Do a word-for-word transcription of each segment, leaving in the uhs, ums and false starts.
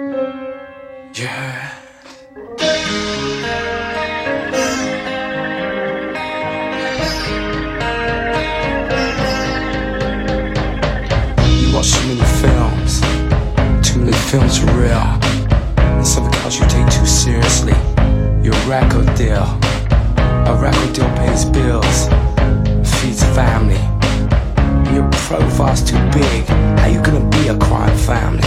Yeah. You watch too many films, too many films are real, and some because you take too seriously. Your record deal, a record deal pays bills, feeds a family. Your profile's too big, how you gonna be a crime family?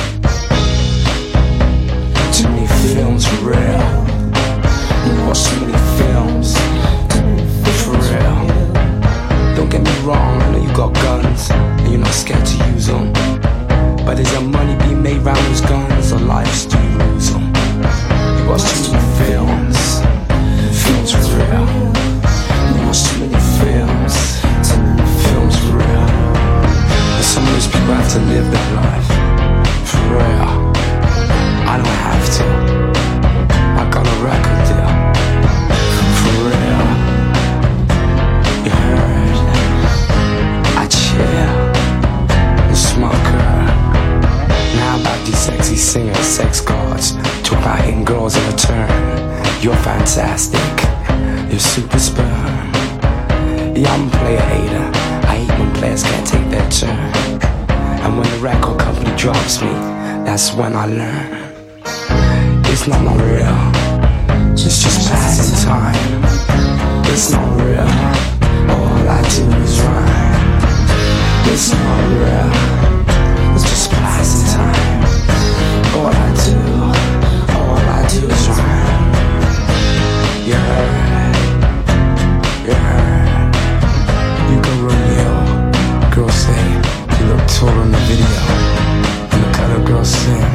Too many films for real. You watch too many films for real. Don't get me wrong, I know you got guns and you're not scared to use them, but is there money being made round those guns, or lives do you lose them? You watch too many films, films for real. You watch too many films, films for real. And some of those people have to live their life for real. I don't have to. I got a record deal for real. You heard? I chill and smoke her. Now about these sexy singers, sex gods, talk about hitting girls in return. You're fantastic. You're super sperm. Yeah, I'm a player hater. I hate when players can't take their turn. And when the record company drops me, that's when I learn. It's not not real, it's just passing time. It's not real, all I do is rhyme. It's not real, it's just passing time. All I do, all I do is rhyme. You heard, you heard. You go Romeo, girls say you look tall in the video, and the color girls sing.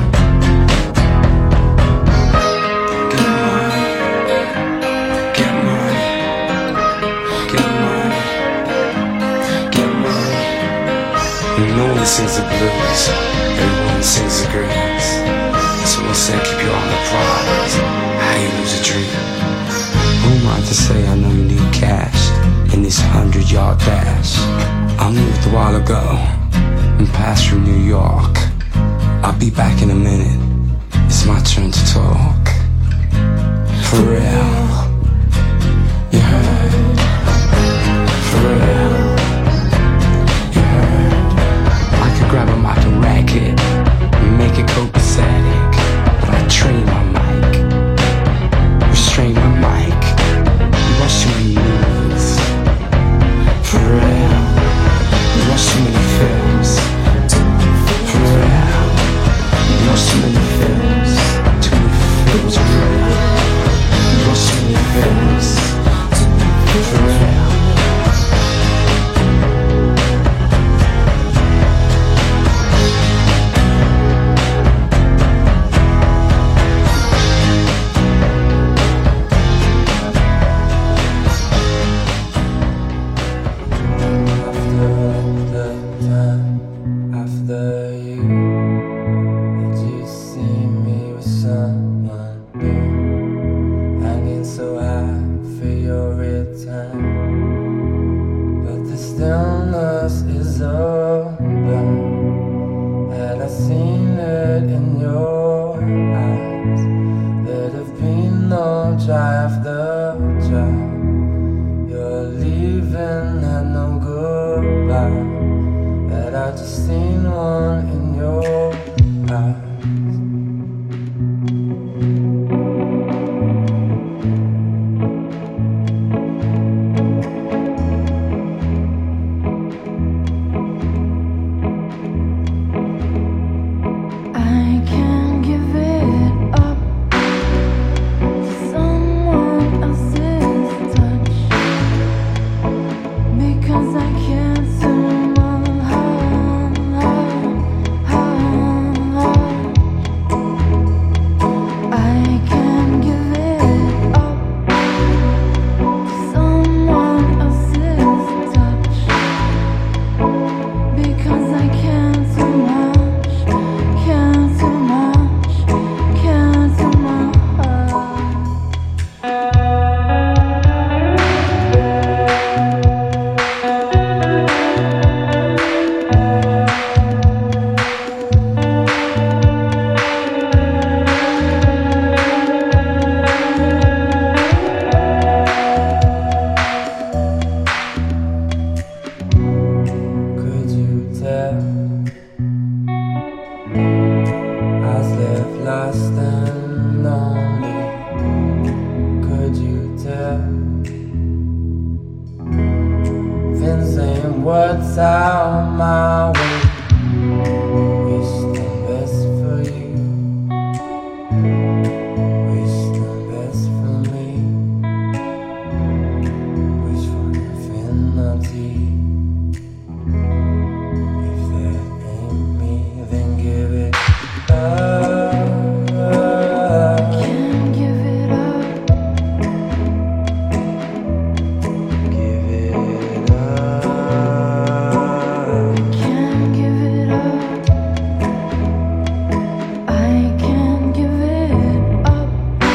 No one sings the blues, everyone sings the greens. Someone said keep you on the prize, how you lose a dream. Who am I to say I know you need cash in this hundred yard dash? I moved a while ago and passed through New York. I'll be back in a minute, it's my turn to talk. For real, you heard? For real, you heard? I could grab a mic and rack it and make it copacetic, but I train my mic, restrain my mic. You watch too many movies, for real. You watch too many films, for real. You watch too many films, too many films, for real. You watch too many films, for real. I can't give it up to someone last and only. Could you tell? Things saying words out my way. Wish the best for you. Wish the best for me. Wish for infinity. If that ain't me, then give it up. Can't give it up. Give it up. Can't give it up. I can't give it up.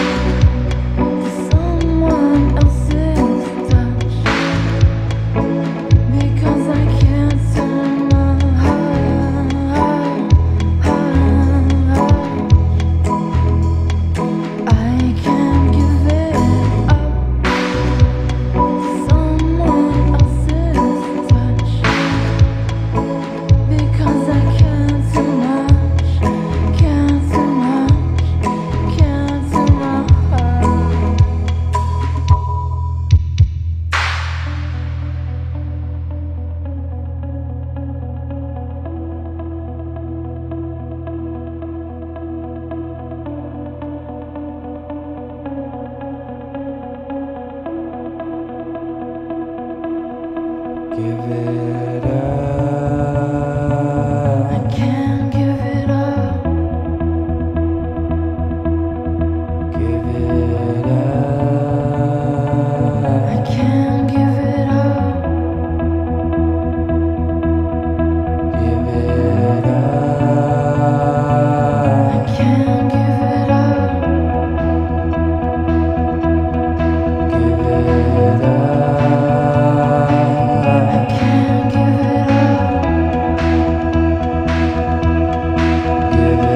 Someone else's touch. Because I can't turn my heart. I can't give it up. Someone else's touch. Because I can't too much. Can't too much. Can't too much. Give it up. I can't give it up. Give it I up. can't give it up. Give it I up. can't give it up. Give it up. I can't give it up. Give it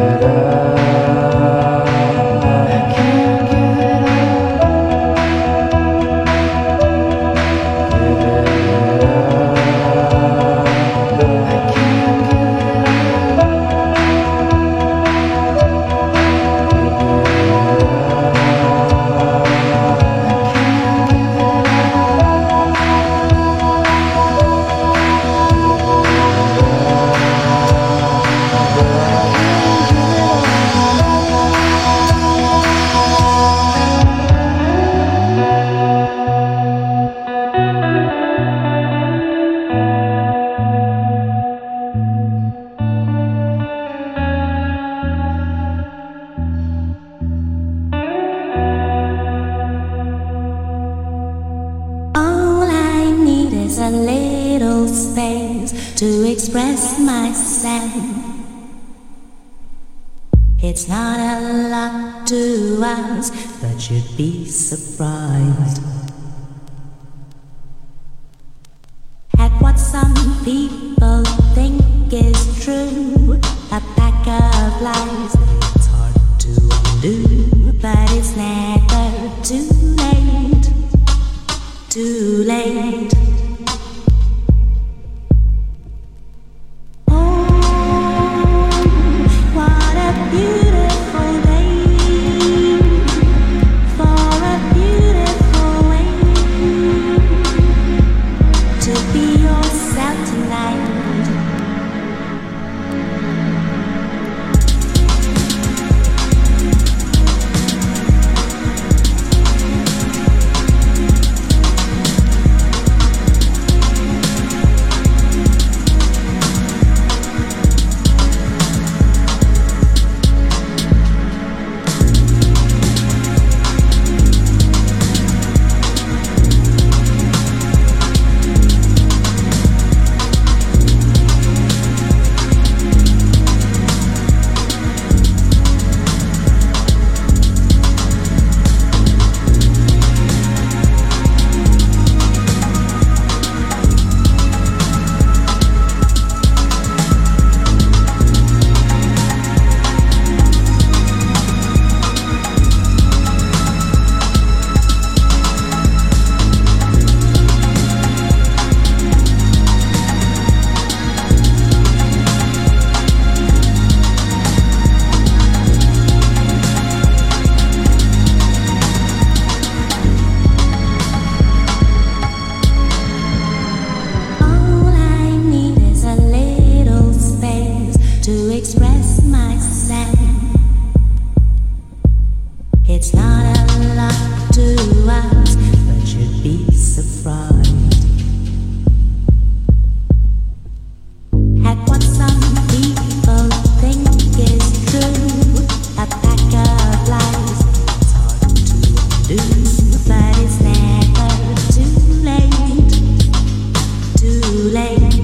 I up. can't give it All I need is a little space to express myself. It's not a lot to ask, but you'd be surprised at what some people think is true. A pack of lies it's hard to undo, but it's never too late. Too late. Oh, what a beautiful day for a beautiful way to be yourself tonight. express myself. It's not a lot to ask, but you'd be surprised at what some people think is true. A pack of lies, it's hard to undo, but it's never too late, too late.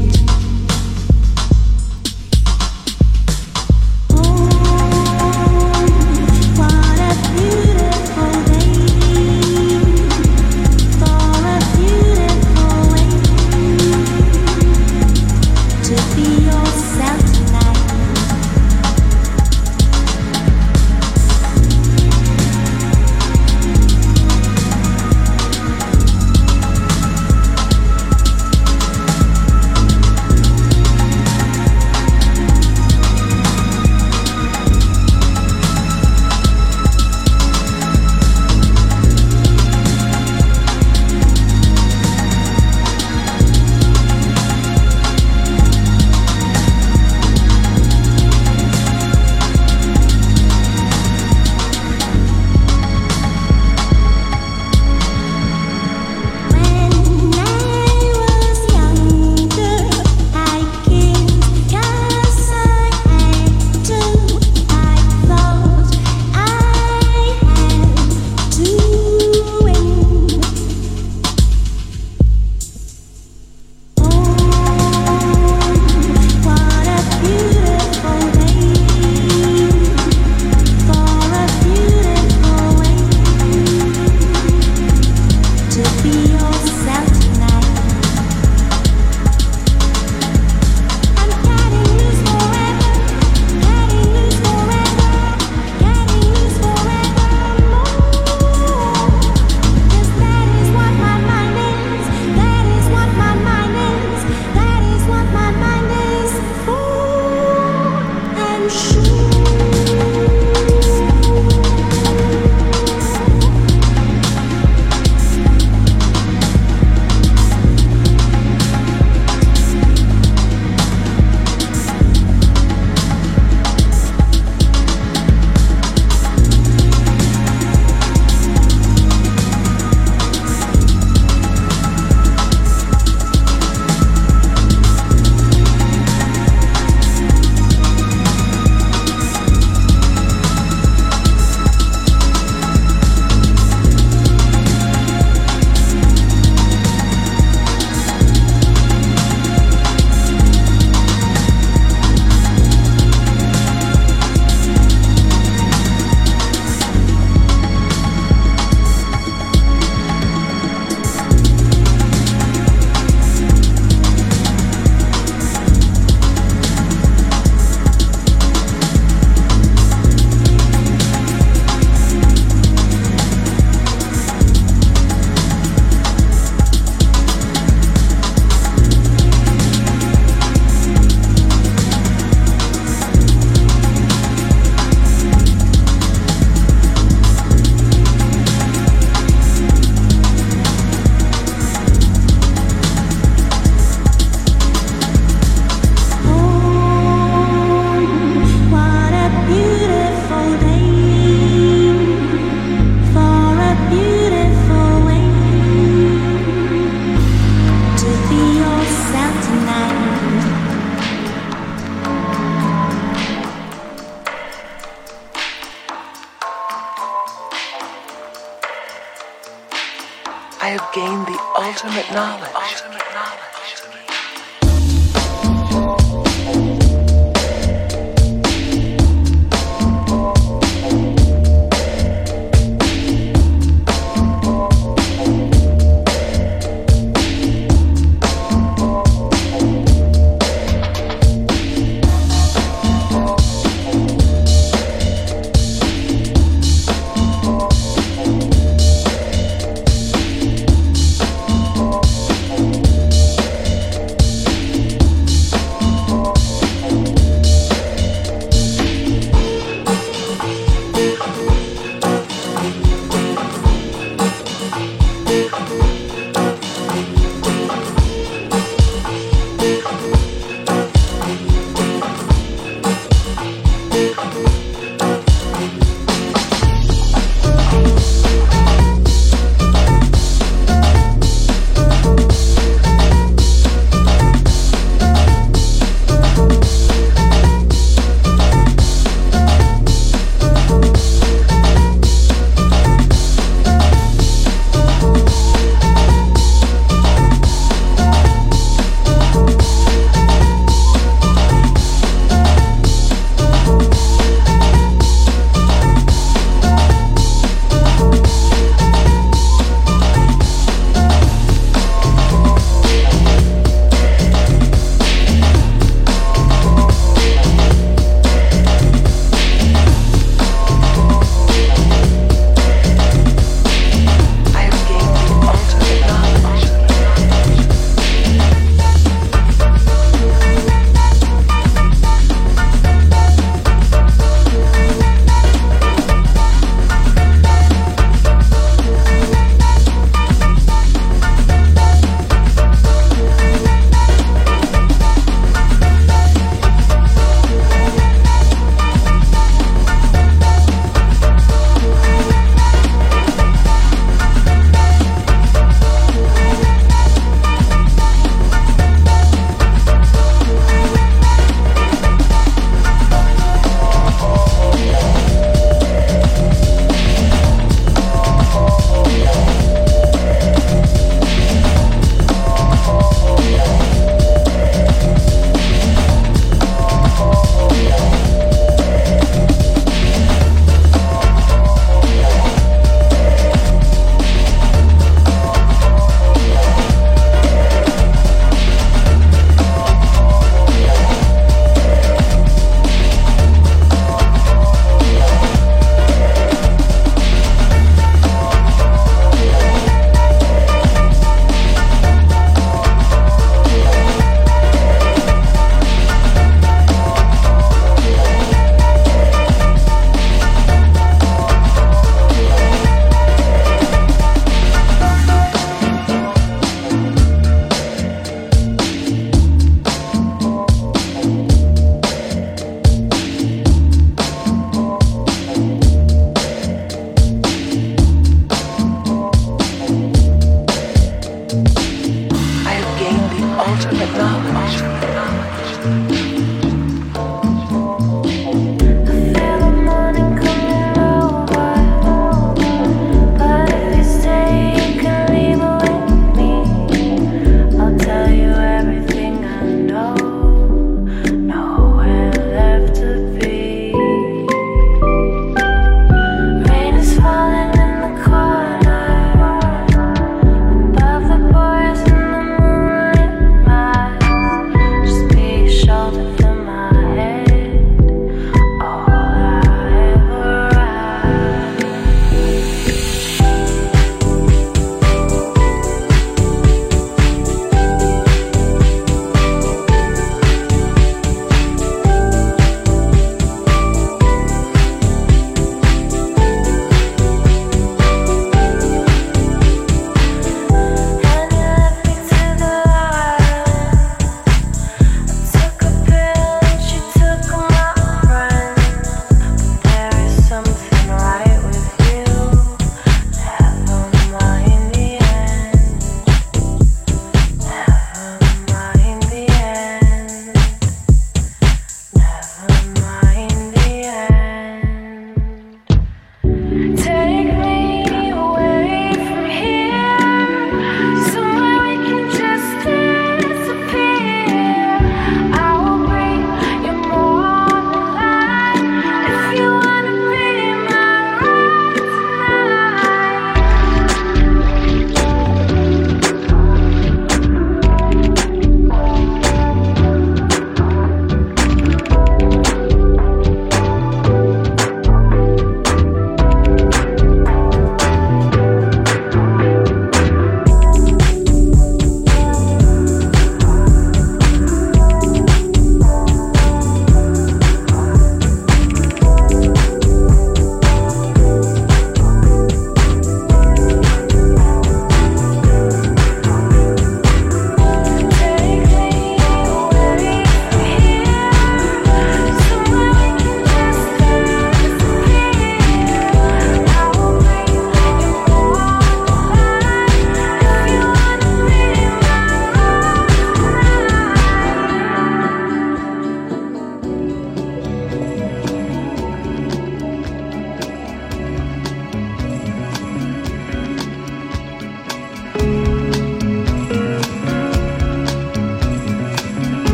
I have gained the ultimate knowledge. Ultimate knowledge. Thank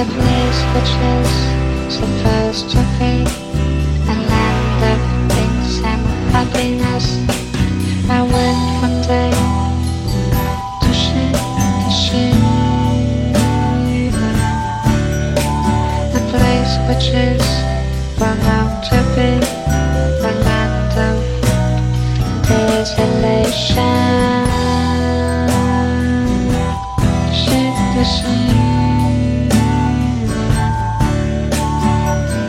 the place which is supposed to be a land of peace and happiness. I went one day to ship the ship, a place which is bound to be a land of desolation. Ship the ship.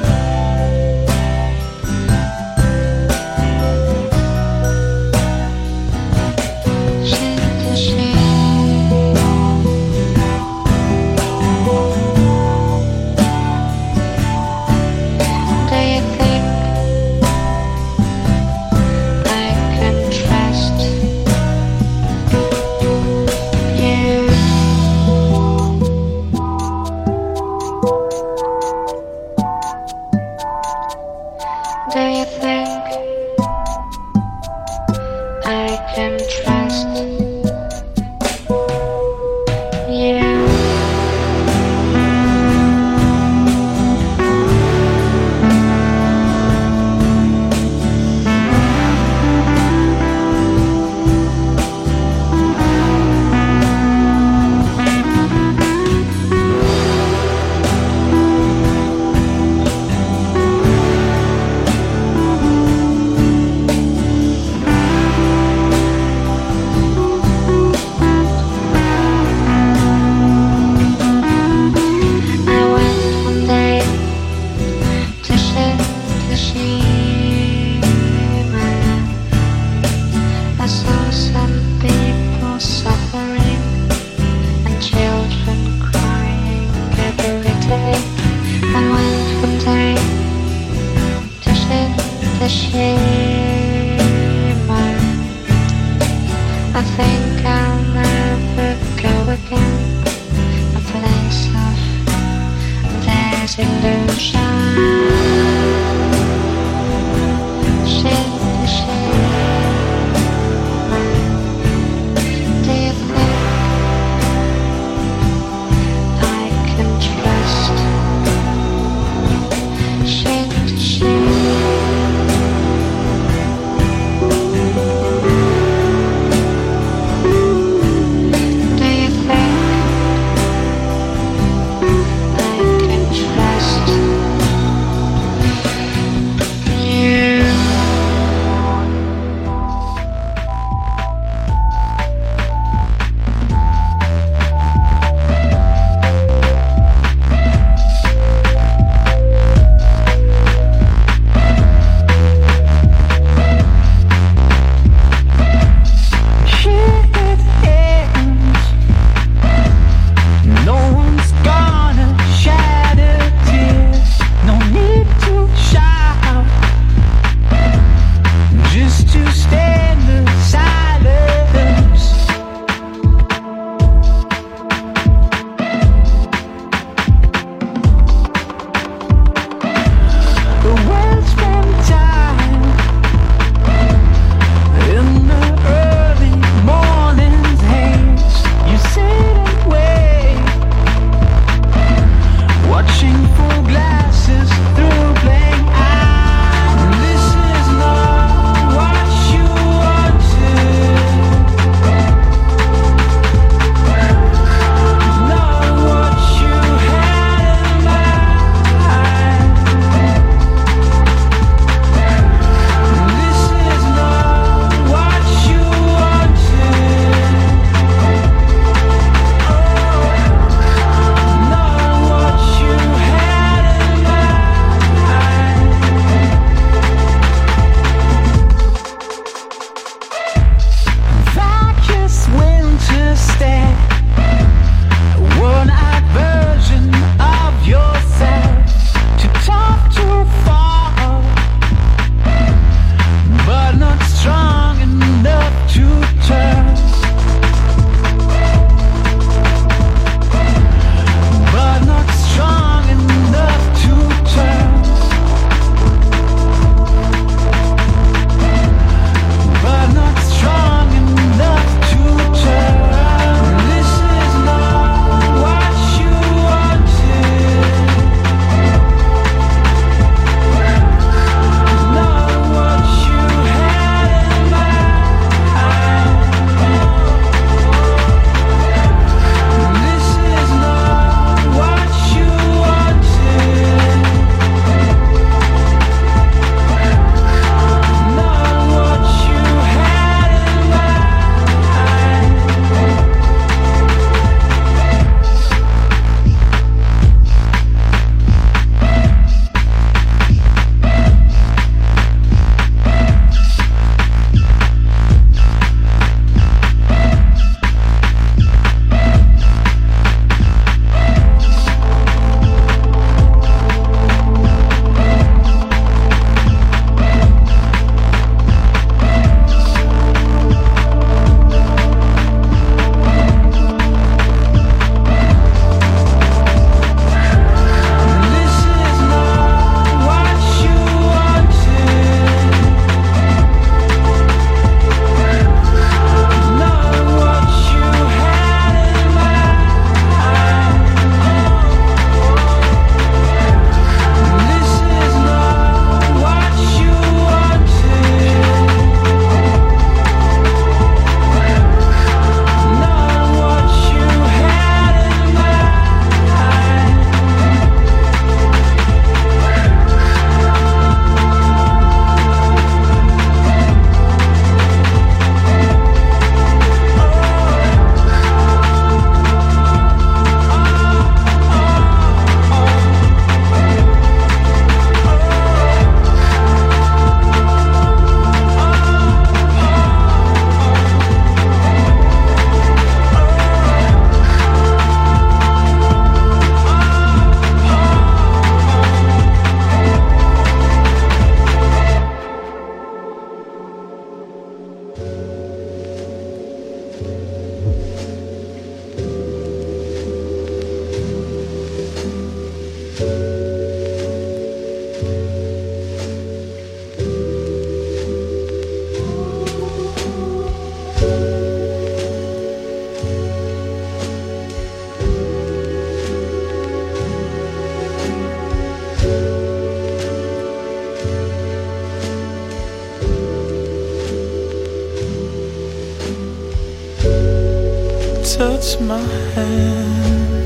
touch my hand,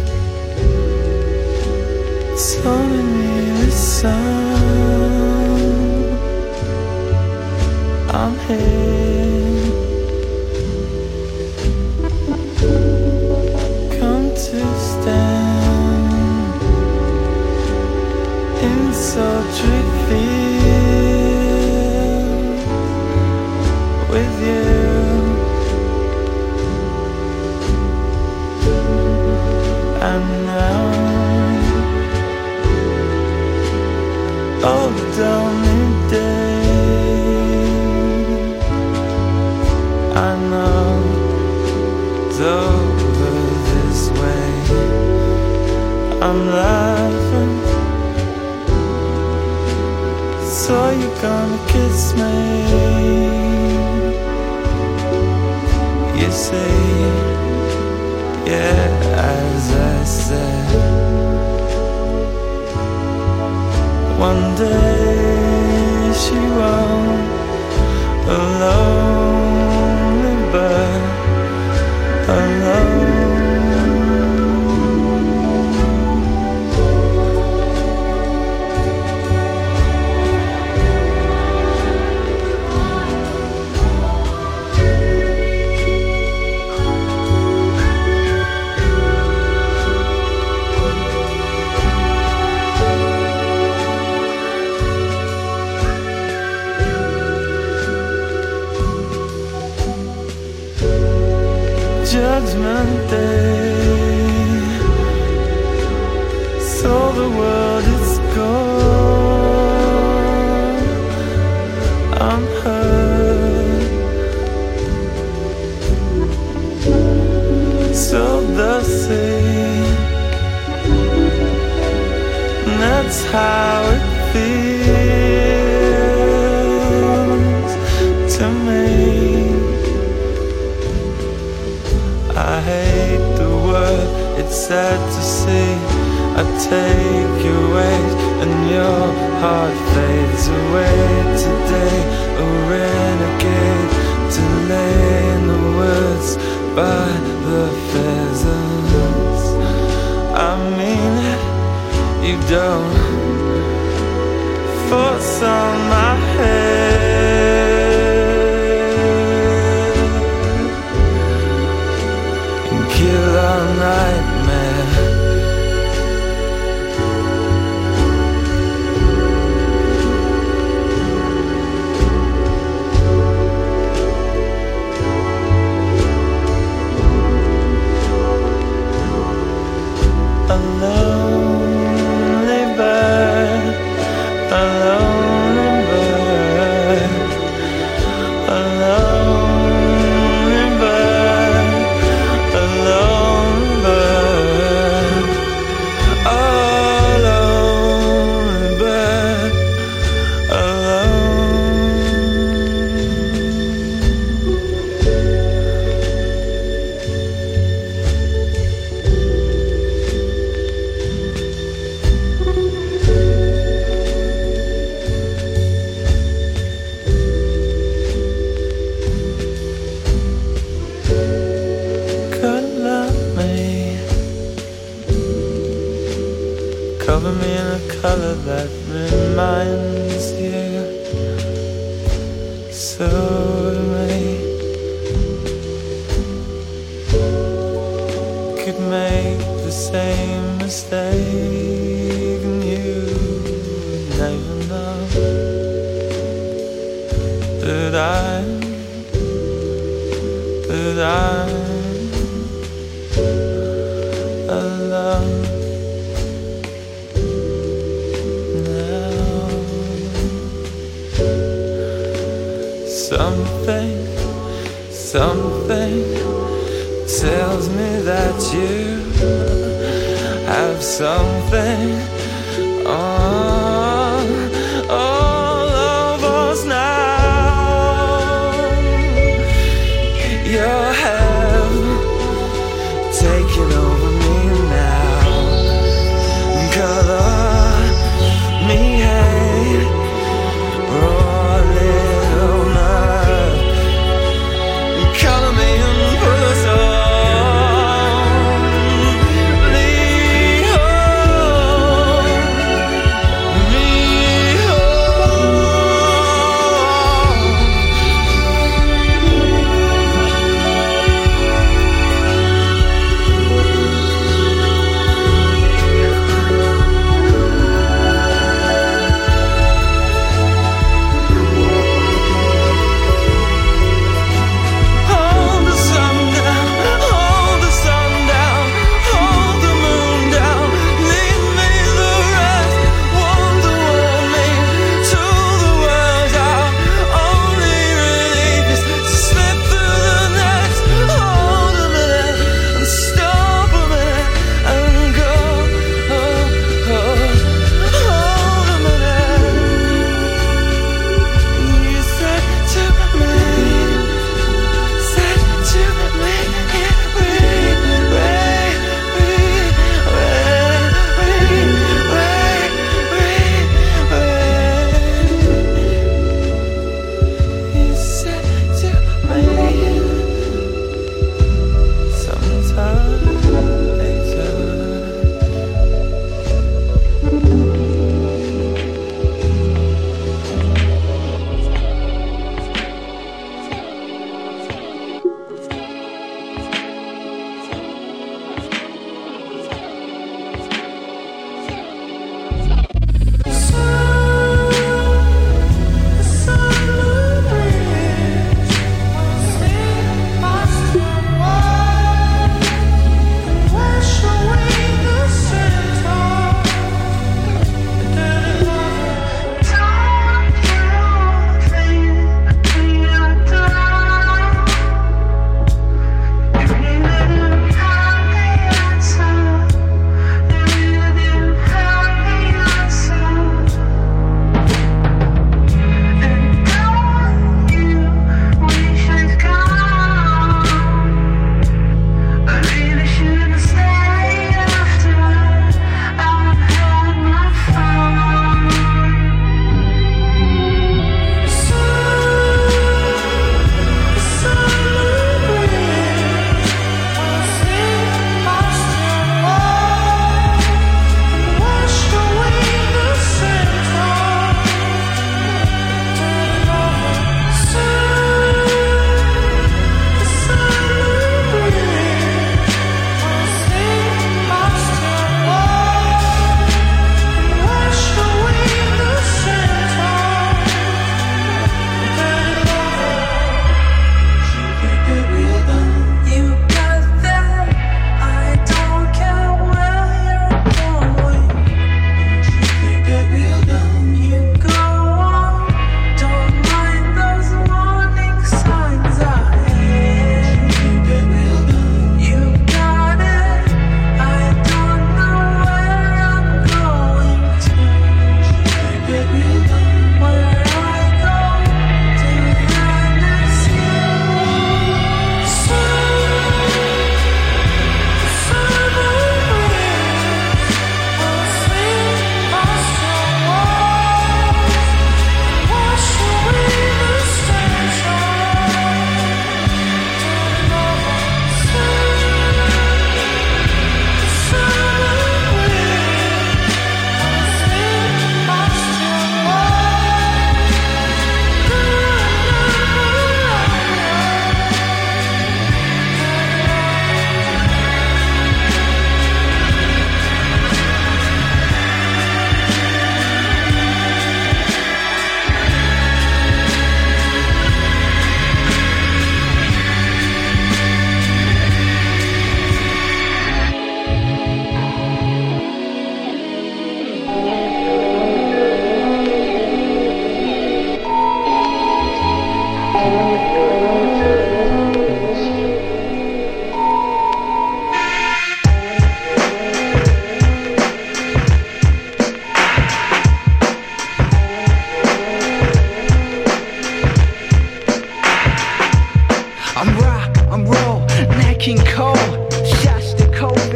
telling me listen, I'm here. Come to stand in sultry field with you. And now, oh, lonely day, I know it's over this way. I'm laughing, so you're gonna kiss me. You say, yeah, as I said, one day she won't, a lonely bird, alone. Judgment Day, so the world is gone. I'm hurt, so the sea, and that's how it feels to me. I hate the word, it's sad to see. I take your weight and your heart fades away today. A renegade to lay in the woods by the pheasants. I mean it, you don't force on my head. Kill our nightmare. A lonely bird, a lonely bird, a lonely bird, a lonely bird, a lonely bird, alone. Color me, cover me in a color that reminds you so to me. Could make the same mistake and you never know that I'm, that I'm alone now. Something, something tells me that you have something on all of us now. You have taken over me now. Color me hate, raw little nerve. Color me and put us all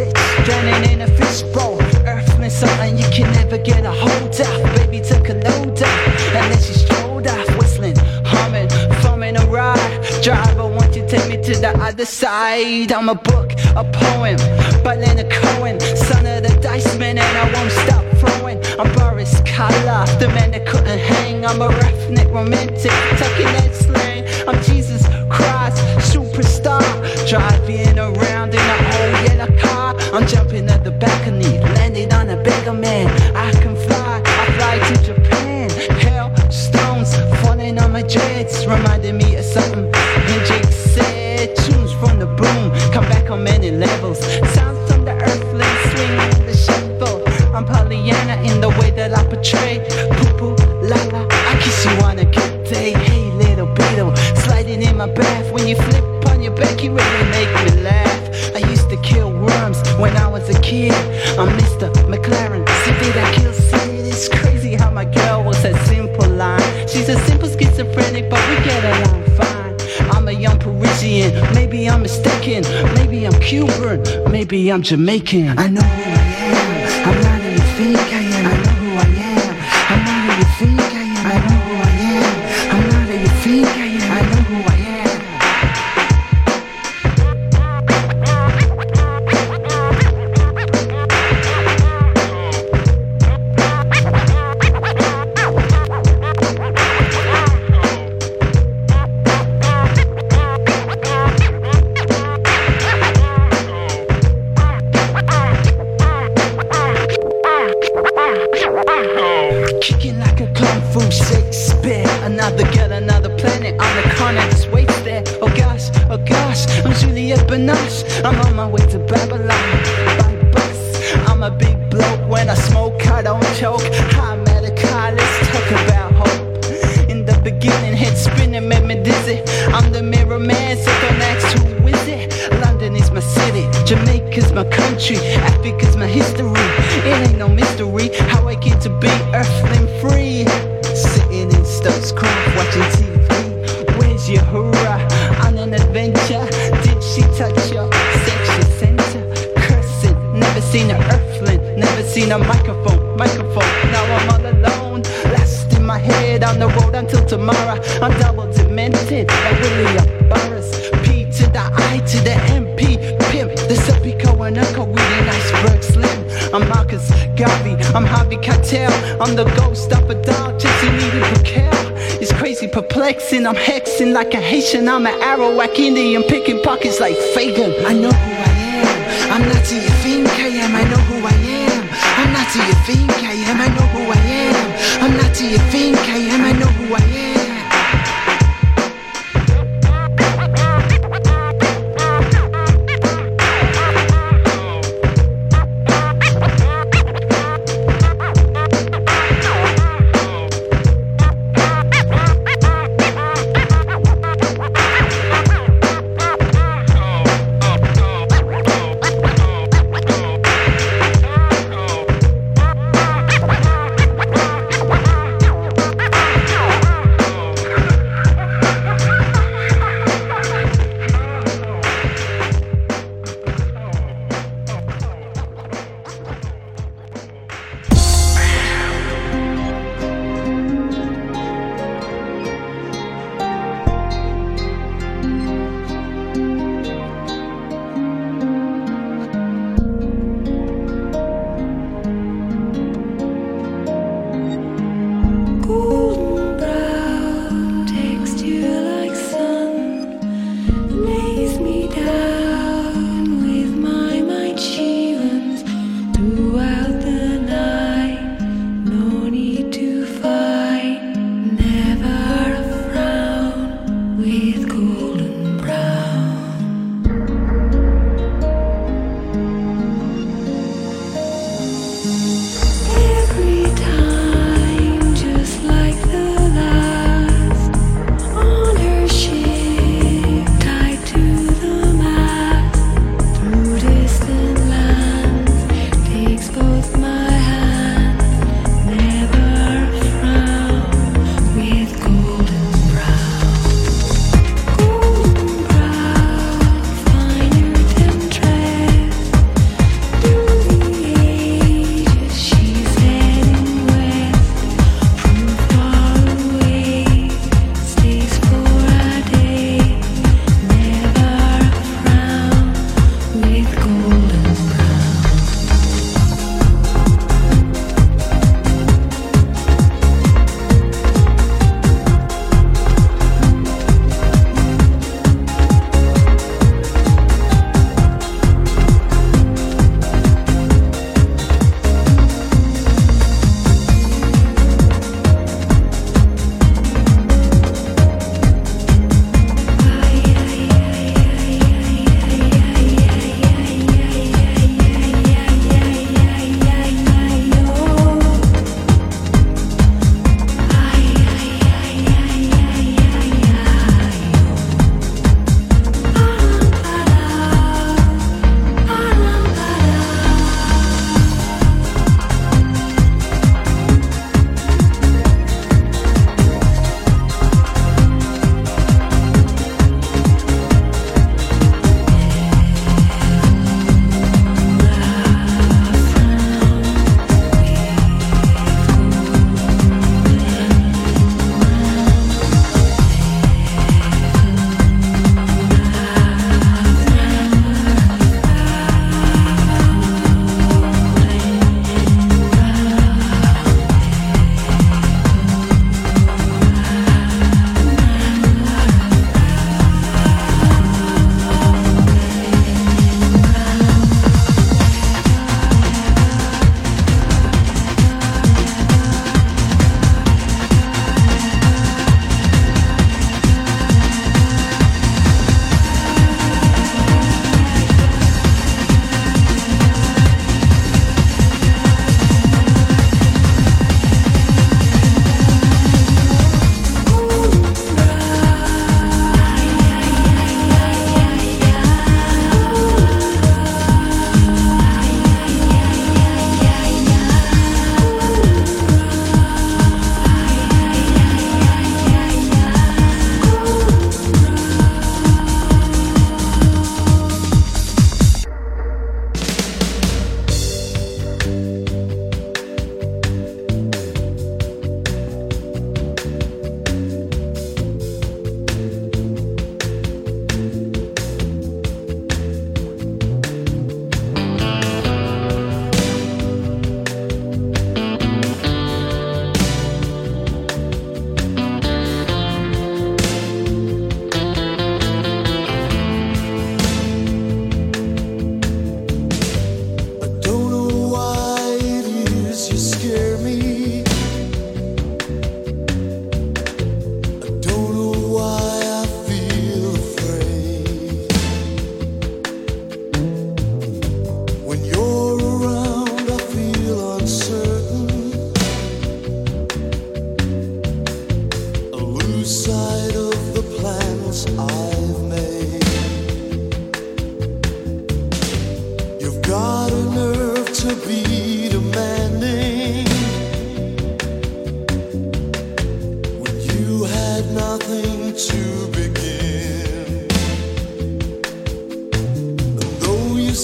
bitch, drowning in a fishbowl. Earthling something you can never get a hold of. Baby took a load up, and then she strolled off, whistling, humming, foaming a ride. Driver, won't you take me to the other side? I'm a book, a poem, by Leonard Cohen, son of the Dice Man, and I won't stop throwing. I'm Boris Karloff, the man that couldn't hang. I'm a roughneck romantic, tucking that slang. I'm Jesus Christ, superstar, driving around in an old yellow car. I'm jumping at the balcony, landing on a beggar man. I can fly, I fly to Japan. Hell, stones falling on my dreads, reminding me of something Hendrix said. Tunes from the boom, come back on many levels. Sounds from the earthling, swinging the shovel. I'm Pollyanna in the way that I portray. Poo-poo, la-la, I kiss you on a good day. Hey, little beetle, sliding in my bath. When you flip on your back, you really make me laugh. I used to kill worms when I was a kid. I'm Mister McLaren, city that kills Sid. It's crazy how my girl was a simple line. She's a simple schizophrenic, but we get along fine. I'm a young Parisian, maybe I'm mistaken. Maybe I'm Cuban, maybe I'm Jamaican. I know who I am, I'm not who you think I am. I know who I am, I'm not who you think I am. I know who I am, I'm not who you think I am. I know who I am. Kicking like a kung fu Shakespeare. Another girl, another planet on the corner, just wait there. Oh gosh, oh gosh, I'm Juliette Binoche. I'm on my way to Babylon by bus. I'm a big bloke, when I smoke I don't choke. I'm at a car, let's talk about hope. In the beginning, head spinning made me dizzy. I'm the mirror man, so don't ask who is it. London is my city, Jamaica's my country, Africa's my history. It ain't no mystery how I get to be earthling free. Sitting in Stokes Croft watching T V. Where's your hurrah? On an adventure. Did she touch your sexual center? Cursing, never seen an earthling, never seen a microphone, microphone. Now I'm all alone, lost in my head on the road until tomorrow. I'm double demented, like William Burris. P to the I to the M P, pimp. The Serpico and Uncle with an iceberg slim. I'm Marcus Garvey, I'm Harvey Keitel. I'm the ghost of a dog chasing Edie Brickell. It's crazy, perplexing, I'm hexing like a Haitian. I'm an Arawak Indian, picking pockets like Fagin. I know who I am, I'm not who you think I am. I know who I am, I'm not who you think I am. I know who I am, I'm not who you think I am. I know who I am.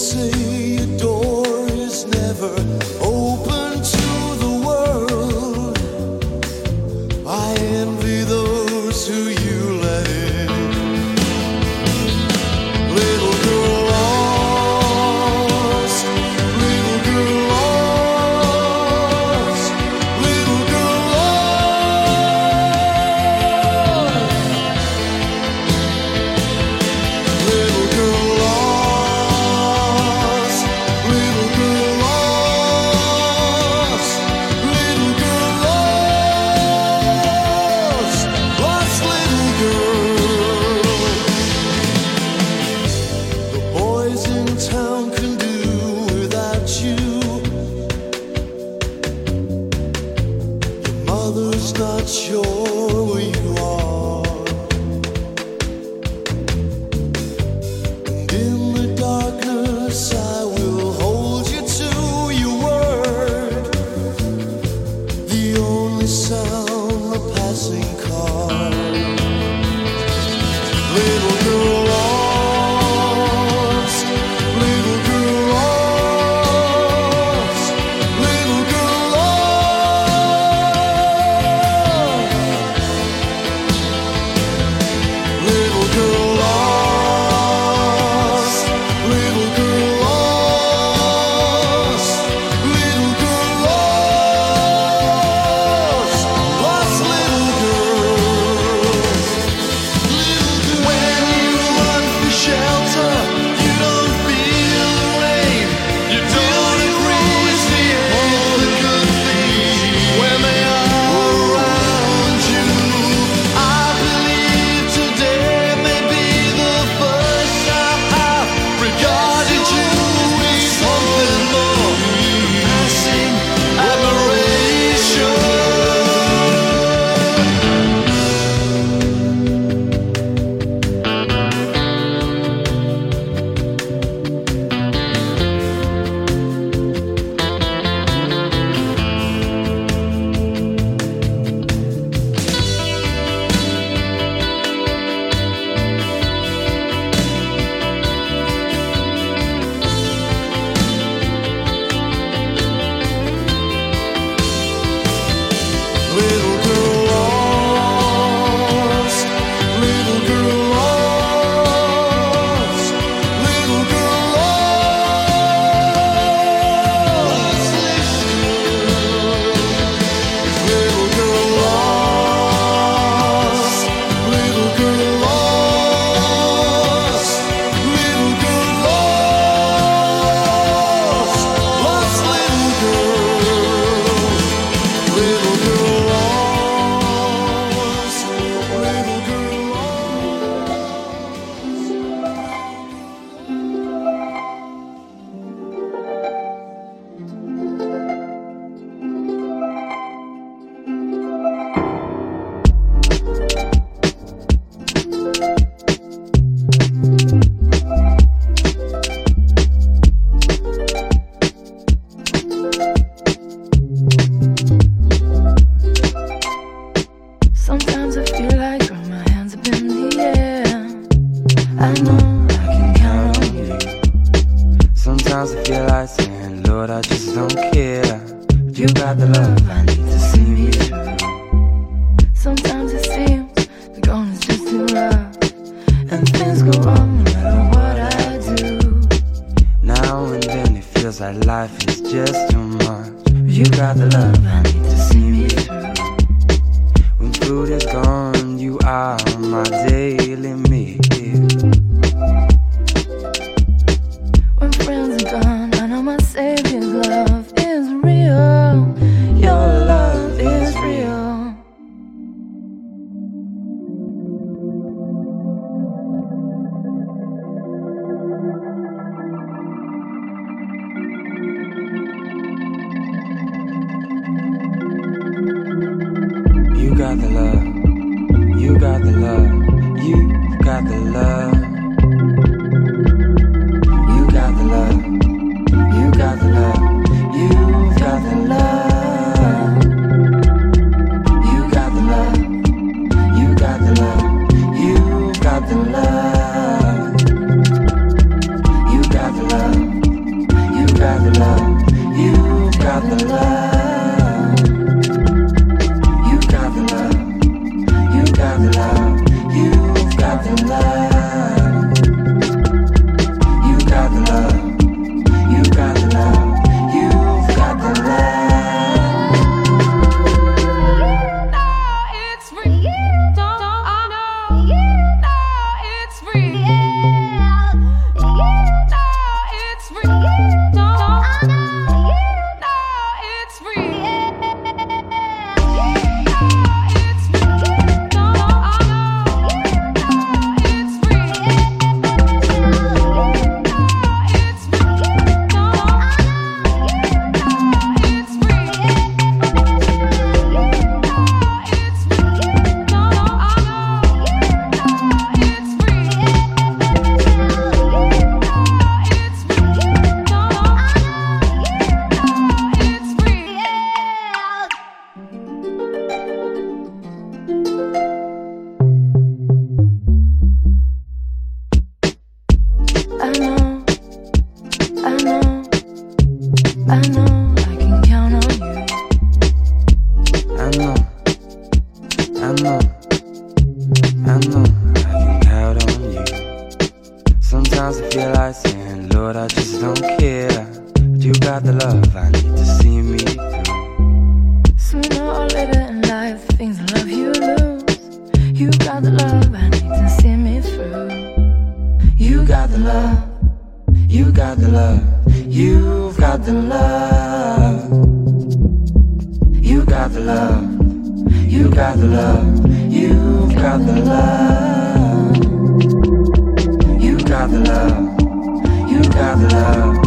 say your door is never open to the world. I envy those who you let in. Little girl lost, little girl lost, little girl lost, little girl lost, little girl lost, little girl lost, lost little girl. The boys in town can do without you. Your mother's not sure where you are. And in the darkness I will hold you to your word. The only sound, the passing car. Little girl lost, little girl lost, little girl lost, little girl lost, little girl lost, little girl lost, lost little girl. When you run for shelter, you don't feel the rain. You don't appreciate the good things when they are around you. I believe today may be the first time I've regarded you with something more than passing admiration. Little girl lost, little girl lost, little girl lost, little girl lost, little girl lost, little girl lost, lost little girl. Little girl lost, little girl Sometimes I feel like throwing my hands up in the air. I know I can count on you. Sometimes I feel like saying, Lord, I just don't care. You got the love I need to see me through. Sometimes it seems the going is just too rough, and things go wrong no matter what I do. Now and then it feels like life is just too much. You got the love I need to see me through. When food is gone, you are my daily meal. When friends are gone, I know my Savior's love is real. Your love is real. You got the love, you got the love, you got know, I know I can count on you. I know, I know, I know I can count on you. Sometimes I feel like saying, Lord, I just don't care. But you got the love I need to see me through. Sooner or later in life, things in love you lose. You got the love I need to see me through. You got the love, you got the love, you've got the love. You got the love, you got the love, you've got the love. You got the love, you got the love.